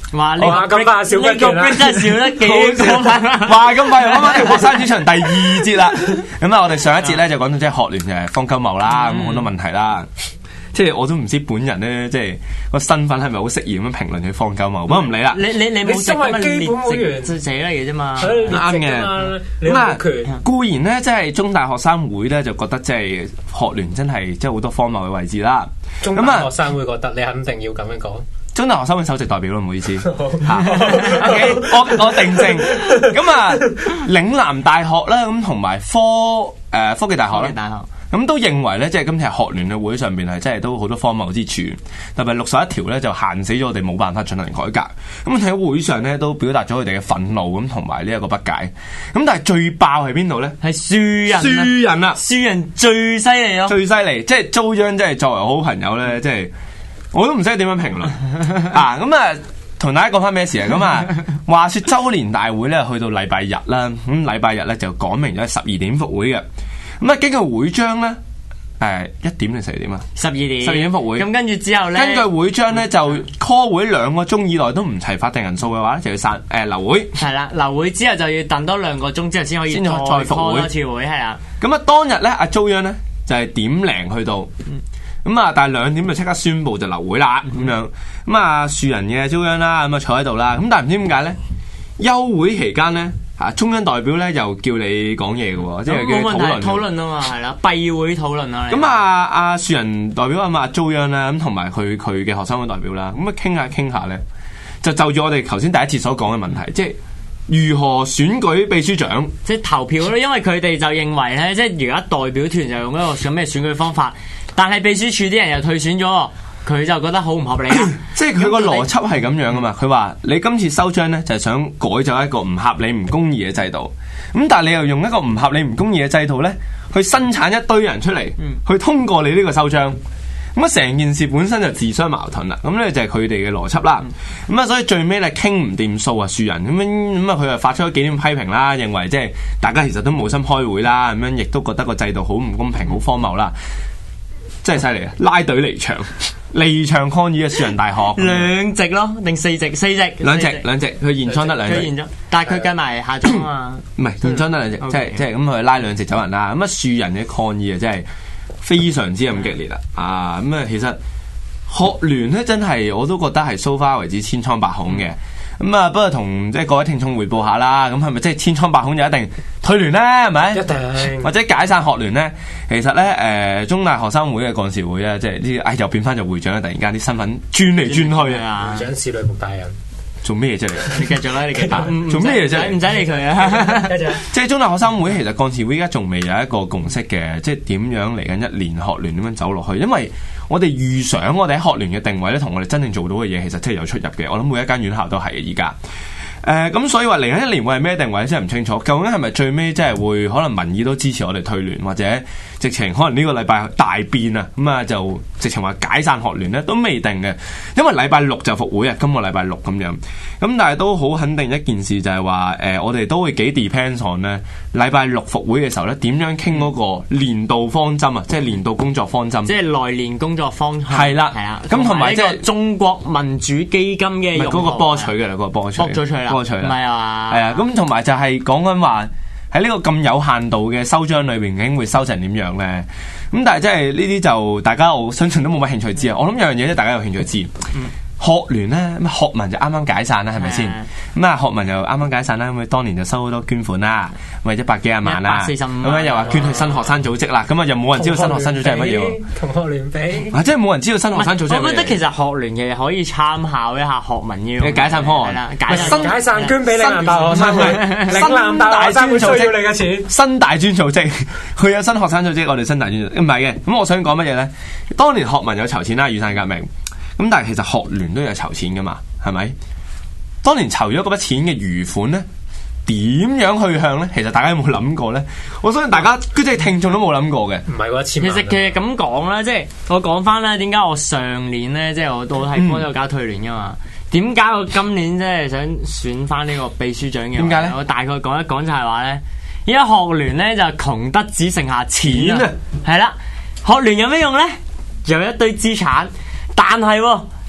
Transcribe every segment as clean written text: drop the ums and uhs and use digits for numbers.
哇！呢個咁快少一段啦， 真係少得幾話咁快，啱啱學生主場第2節啦。咁啊，我哋上一節咧就講到即係學聯就係方鳩茂啦，咁好多問題啦。即係我都唔知本人咧，即係個身份係咪好適宜咁樣評論佢方鳩茂，不過唔理啦。 你冇身為基本會員就寫嚟嘅啫嘛， 啱嘅。咁啊，固然咧，即係中大學生會咧就覺得即係學聯真係即係好多荒謬嘅位置啦。 中大學生會覺得你肯定要咁樣講。 中大學生會首席代表咯，唔好意思。OK， 我定正。咁啊，嶺南大學啦，咁同埋科技大學咧。咁都認為咧，即係今次學聯嘅會上邊係真係都好多荒謬之處，特別61條咧就限死咗我哋冇辦法進行改革。咁喺會上咧都表達咗佢哋嘅憤怒咁同埋呢一個不解。咁但係最爆係邊度咧？係樹人啊！ 樹人最犀利咯， 最犀利！即係遭殃，即係作為好朋友咧，即係我都唔識點樣評論啊！咁啊，同大家講翻咩事啊？咁啊，話說周年大會咧去到禮拜日啦，咁禮拜日咧就講明咗12點復會嘅。咁啊，根據會章咧，1點定12點啊？12點復會。 咁跟住之後咧， 根據會章咧就 call 會2個鐘以內都唔齊法定人數嘅話咧，就要留會。係啦， 留會之後就要等多2個鐘之後先可以再復會多次會，係啊。 咁啊，當日咧阿遭殃咧就係點零去到，咁啊，但係2點就即刻宣佈就留會啦，咁樣。咁啊，樹人嘅遭殃啦，咁啊坐喺度啦。咁但係唔知點解咧，休會期間咧。中央代表咧又叫你講嘢嘅喎，即係叫討論啊嘛，係啦，閉會討論啊。 咁阿樹人代表啊遭殃啦，咁同埋佢嘅學生會代表啦，咁啊傾下咧，就住我哋頭先第一節所講嘅問題，即係如何選舉秘書長， 即係投票咯。因為佢哋就認為咧，即係而家代表團就用一個咁咩選舉方法，但係秘書處啲人又退選咗。佢就覺得好唔合理啊！ 即係佢個邏輯係咁樣噶嘛？佢話你今次收章咧，就係想改咗一個唔合理、唔公義嘅制度。咁但係你又用一個唔合理、唔公義嘅制度咧，去生產一堆人出嚟，去通過你呢個收章。咁啊，成件事本身就自相矛盾啦。咁咧就係佢哋嘅邏輯啦。咁啊，所以最尾咧傾唔掂數啊，樹人咁啊，佢就發出咗幾點批評啦，認為即係大家其實都冇心開會啦，咁樣亦都覺得個制度好唔公平、好荒謬啦。真係犀利啊！拉隊離場抗議嘅樹人大學 2席咯，定4席？4席， 兩席，佢現倉得2席， 佢現咗，但係佢計埋下莊啊， 唔係現倉得2席，即係咁佢拉2席走人啦。咁啊樹人嘅抗議啊，真係非常之咁激烈啦！啊咁啊，其實學聯咧真係我都覺得係 so far 為止千瘡百孔嘅。咁啊，不過同即係各位聽眾匯報下啦。咁係咪即係千瘡百孔就一定退聯咧？係咪？ 一定。或者解散學聯咧？其實咧，中大學生會嘅幹事會咧，即係呢又變翻做會長啦。突然間啲身份轉嚟轉去啊！ 會長史女僕大人做咩嘢啫？ 你繼續啦，你繼續。 做咩嘢啫？ 唔使理佢啊！ 即係中大學生會其實幹事會而家仲未有一個共識嘅，即係點樣嚟緊1年學聯點樣走落去？因為我哋預想我哋喺學聯嘅定位咧，同我哋真正做到嘅嘢，其實真係有出入嘅。我諗每一間院校都係嘅而家。咁所以話嚟緊1年會係咩定位真係唔清楚。究竟係咪最尾即係會可能民意都支持我哋退聯，或者直情可能呢個禮拜大變啊？咁啊就直情話解散學聯咧都未定嘅。因為禮拜6就復會啊，今個禮拜6咁樣。咁但係都好肯定一件事就係話我哋都會幾 depends on 咧禮拜6復會嘅時候咧點樣傾嗰個年度方針啊，即係年度工作方針， 即係來年工作方向係啦，咁同埋即係中國民主基金嘅嗰個波取嘅啦，嗰個波取咗出嚟啦， 唔係啊， 係啊，咁同埋就係講緊話喺呢個咁有限度嘅收章裏邊，究竟會收成點樣咧？咁但係即係呢啲就大家我相信都冇乜興趣知啊！我諗有樣嘢咧，大家有興趣知。學聯咧，學民就啱啱解散啦，係咪先？咁啊，學民又啱啱解散啦，咁佢當年就收好多捐款啦，咁啊100幾廿萬啦，咁樣又話捐去新學生組織啦，咁啊又冇人知道新學生組織係乜嘢？ 同學聯比即係冇人知道新學生組織。 我覺得其實學聯嘅可以參考一下學民嘅解散方案， 解散捐俾嶺南大學生會，嶺南大學生會需要你嘅錢。 新大專組織，佢有新學生組織，我哋新大專組織唔係嘅。咁我想講乜嘢咧？當年學民有籌錢啦，雨傘革命。咁但係其實學聯都有籌錢噶嘛，係咪？當年籌咗嗰筆錢嘅餘款咧，點樣去向咧？其實大家有冇諗過咧？我相信大家即係聽眾都冇諗過嘅。 唔係喎，其實咁講啦，即係我講翻啦，點解我上年咧，即係我係幫咗搞退聯噶嘛？點解我今年即係想選翻呢個秘書長嘅？ 點解咧？ 我大概講一講就係話咧，而家學聯咧就窮得只剩下錢啊！係啦，學聯有咩用咧？有一堆資產。但係你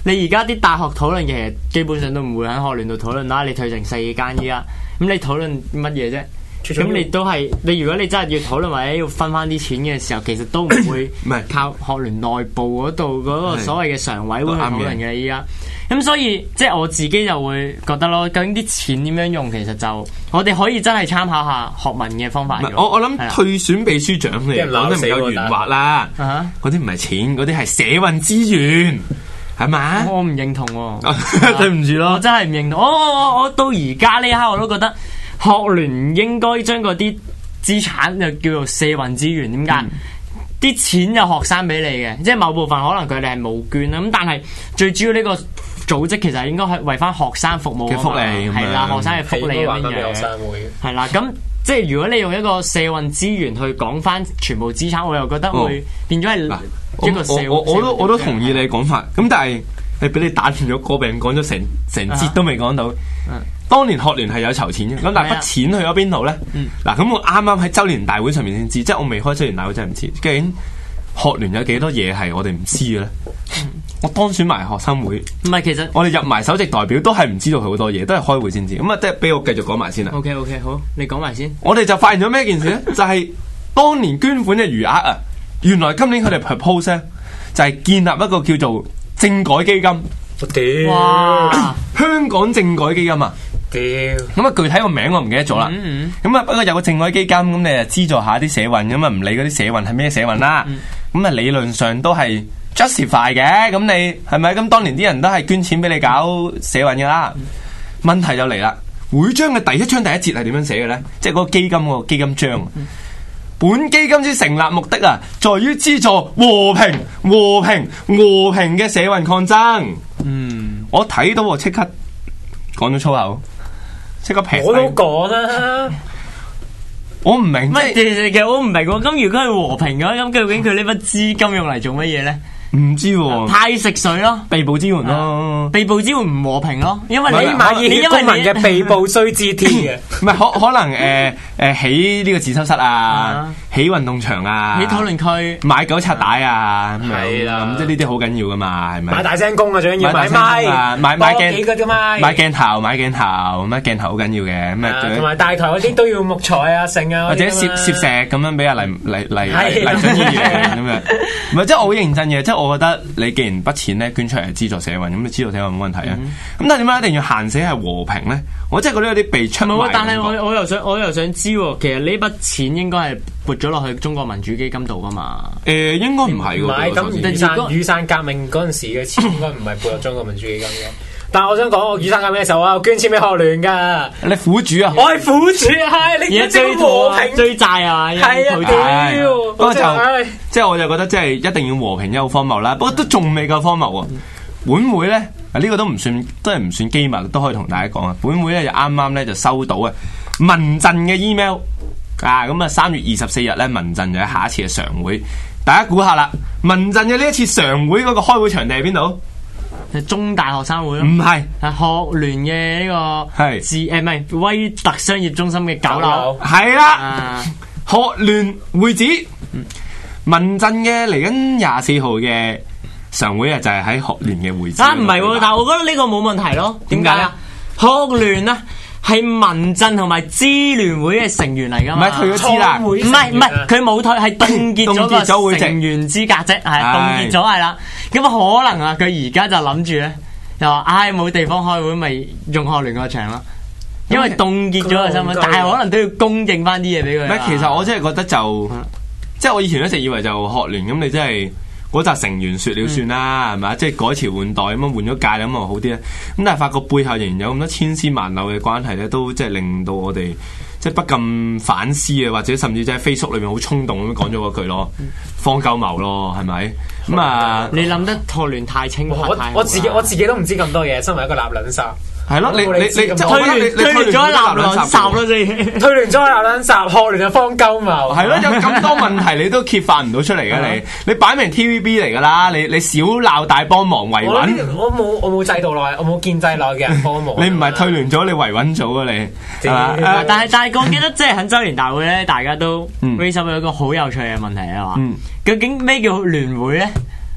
你而家啲大學討論其實基本上都唔會喺學聯度討論啦。你退成4間依家，咁你討論乜嘢啫？咁你都係你，如果你真係要討論或者要分翻啲錢嘅時候，其實都唔會唔係靠學聯內部嗰度嗰個所謂嘅常委會去討論嘅依家。咁所以即係我自己就會覺得咯，究竟啲錢點樣用，其實就我哋可以真係參考下學民嘅方法。 我諗退選秘書長你講得唔夠圓滑啦，嗰啲唔係錢，嗰啲係社運資源。係嘛？ 我唔認同喎，對唔住咯，我真係唔認同。我到而家呢一刻我都覺得學聯應該將嗰啲資產就叫做社運資源。點解？啲錢有學生俾你嘅，即係某部分可能佢哋係冇捐啦。咁但係最主要呢個組織其實應該係為翻學生服務嘅福利， 係啦，學生嘅福利咁樣樣。係啦，咁即係如果你用一個社運資源去講翻全部資產，我又覺得會變咗係。 我都同意你講法，咁但係你俾你打斷咗個病，講咗成節都未講到。當年學聯係有籌錢嘅，咁但係筆錢去咗邊度咧？嗱，咁我啱啱喺周年大會上面先知，即係我未開周年大會真係唔知，究竟學聯有幾多嘢係我哋唔知嘅咧？我當選埋學生會， 唔係其實我哋入埋首席代表都係唔知道佢好多嘢，都係開會先知。咁啊，即係俾我繼續講埋先啦。 OK， 好，你講埋先。 我哋就發現咗咩件事咧？就係當年捐款嘅餘額啊！原來今年佢哋 propose 咧，就係建立一個叫做政改基金。 我屌！ 哇！ 香港政改基金啊！ 屌！ 咁啊，具體個名我唔記得咗啦。咁啊，不過有個政改基金，咁你啊資助下啲社運，咁啊唔理嗰啲社運係咩社運啦。咁啊理論上都係 justify 嘅。咁你係咪？咁當年啲人都係捐錢俾你搞社運噶啦。問題就嚟啦，會章嘅第一章第一節係點樣寫嘅咧？即係嗰個基金個基金章。本基金之成立目的啊，在於資助和平嘅社運抗爭。我睇到我即刻講咗粗口，即刻平。 我都講啦， 我唔明。其實我唔明喎。咁如果係和平嘅話，咁究竟佢呢筆資金用嚟做乜嘢咧？ 唔知喎， 派食水咯， 被捕支援咯， 被捕支援唔和平咯，因為你買熱血公民嘅被捕須知天嘅， 唔係可能起呢個自修室啊，起運動場啊， 起討論區， 買九拆帶啊， 係啦， 咁即係呢啲好緊要噶嘛，係咪？ 買大聲公啊，最緊要買咪， 買幾個啫嘛， 買鏡頭，咁鏡頭好緊要嘅，咁啊， 同埋大台嗰啲都要木材啊、剩啊， 或者攝石咁樣俾阿黎準議員咁樣，唔係即係我好認真嘅，即係。我覺得你既然筆錢咧捐出嚟係資助社運，咁你資助社運冇問題啊。咁但係點解一定要限死係和平咧？我真係覺得有啲被出賣。 但係我又想知，其實呢筆錢應該係撥咗落去中國民主基金度噶嘛？ 應該唔係喎。 唔係咁雨傘革命嗰陣時嘅錢應該唔係撥入中國民主基金嘅。但係我想講，我雨傘革命嘅時候，我有捐錢俾學聯噶。 你苦主啊！ 我係苦主，係你而家追和平追債啊！ 係啊，屌！ 不過即係我就覺得即係一定要和平，有荒謬啦。不過都仲未夠荒謬喎。本會咧呢個都唔算機密，都可以同大家講啊。本會咧就啱啱咧就收到啊民陣嘅 email 啊，咁啊3月24日咧民陣就喺下一次嘅常會，大家估下啦，民陣嘅呢一次常會嗰個開會場地喺邊度？ 中大學生會咯， 唔係， 係學聯嘅呢個唔係威特商業中心嘅9樓， 係啦，學聯會址，民陣嘅嚟緊24號嘅常會啊，就係喺學聯嘅會址。 唔係，但係我覺得呢個冇問題咯。點解啊？學聯啊，係民陣同埋支聯會嘅成員嚟噶嘛？ 唔係退咗資啦， 唔係，佢冇退，係凍結咗個成員資格啫，係凍結咗係啦。咁可能啊，佢而家就諗住咧，就話冇地方開會，咪用學聯個場咯。因為凍結咗個身份，但係可能都要供應翻啲嘢俾佢。 唔係，其實我真係覺得即係我以前一直以為就學聯咁，你真係嗰紮成員說了算啦，係咪？即係改朝換代咁樣換咗屆咁啊好啲咧。咁但係發覺背後仍然有咁多千絲萬縷嘅關係咧，都即係令到我哋即係不禁反思啊，或者甚至即係 Facebook 裏面好衝動咁樣講咗嗰句咯，荒鳩謀咯，係咪？咁啊， 你諗得學聯太清白太我自己都唔知咁多嘢，身為一個立卵殺。 係咯，你即係推聯咗立卵殺咯，先推聯咗立卵殺，學聯就荒鳩謀。 係咯，有咁多問題你都揭發唔到出嚟嘅，你擺明 TVB 嚟噶啦，你少鬧大幫忙維穩。 我冇制度內，我冇建制內嘅人幫忙。 你唔係退聯咗，你維穩咗啊你。 但係我記得即係喺周年大會咧，大家都 raise up 咗一個好有趣嘅問題啊嘛。究竟咩叫聯會咧？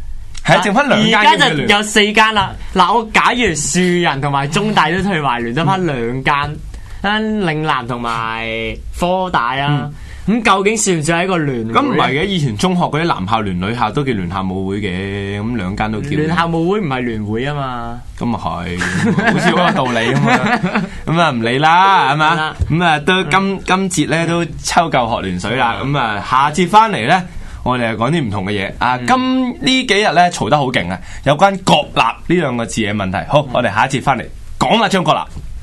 係剩翻2間。 而家就有4間啦。嗱，我假如樹人同埋中大都退埋聯，得翻2間，嶺南同埋科大啊。咁究竟算唔算係一個聯會？ 咁唔係嘅，以前中學嗰啲男校聯、女校都叫聯校舞會嘅，咁2間都叫。 聯校舞會唔係聯會啊嘛。 咁啊係，好似嗰個道理啊嘛。咁啊唔理啦，係嘛？咁啊都今節咧都抽夠學聯水啦。咁啊下節翻嚟咧，我哋講啲唔同嘅嘢。啊，今呢幾日咧嘈得好勁啊，有關國立呢2個字嘅問題。好，我哋下一節翻嚟講啦，張國立。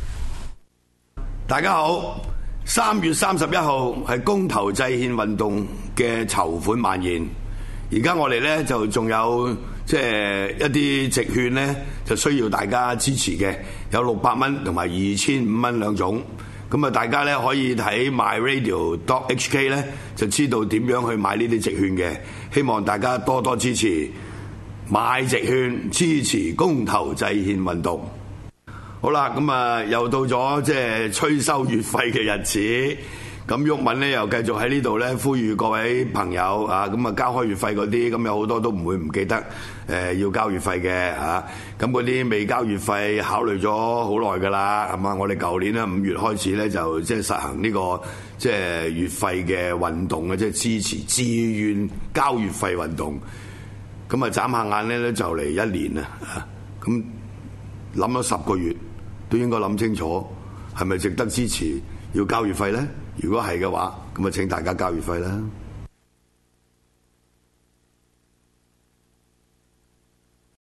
大家好。3月31號係公投制憲運動嘅籌款晚宴，而家我哋呢，就仲有一啲直券呢，就需要大家支持嘅，有600蚊同埋2500蚊2種。咁啊，大家呢可以睇 myradio.hk 呢，就知道點樣去買呢啲直券嘅。希望大家多多支持，買直券支持公投制憲運動。好啦，咁啊又到咗催收月費嘅日子，咁毓民咧又繼續喺呢度咧呼籲各位朋友啊，咁啊交開月費嗰啲，咁有好多都唔會唔記得要交月費嘅嚇，咁嗰啲未交月費考慮咗好耐噶啦，係嘛？我哋舊年咧5月開始咧就實行呢個月費嘅運動嘅，支持自願交月費運動，咁啊眨下眼咧就嚟1年啦，咁諗咗10個月。都應該諗清楚，係咪值得支持要交月費呢？如果係嘅話，咁啊請大家交月費啦。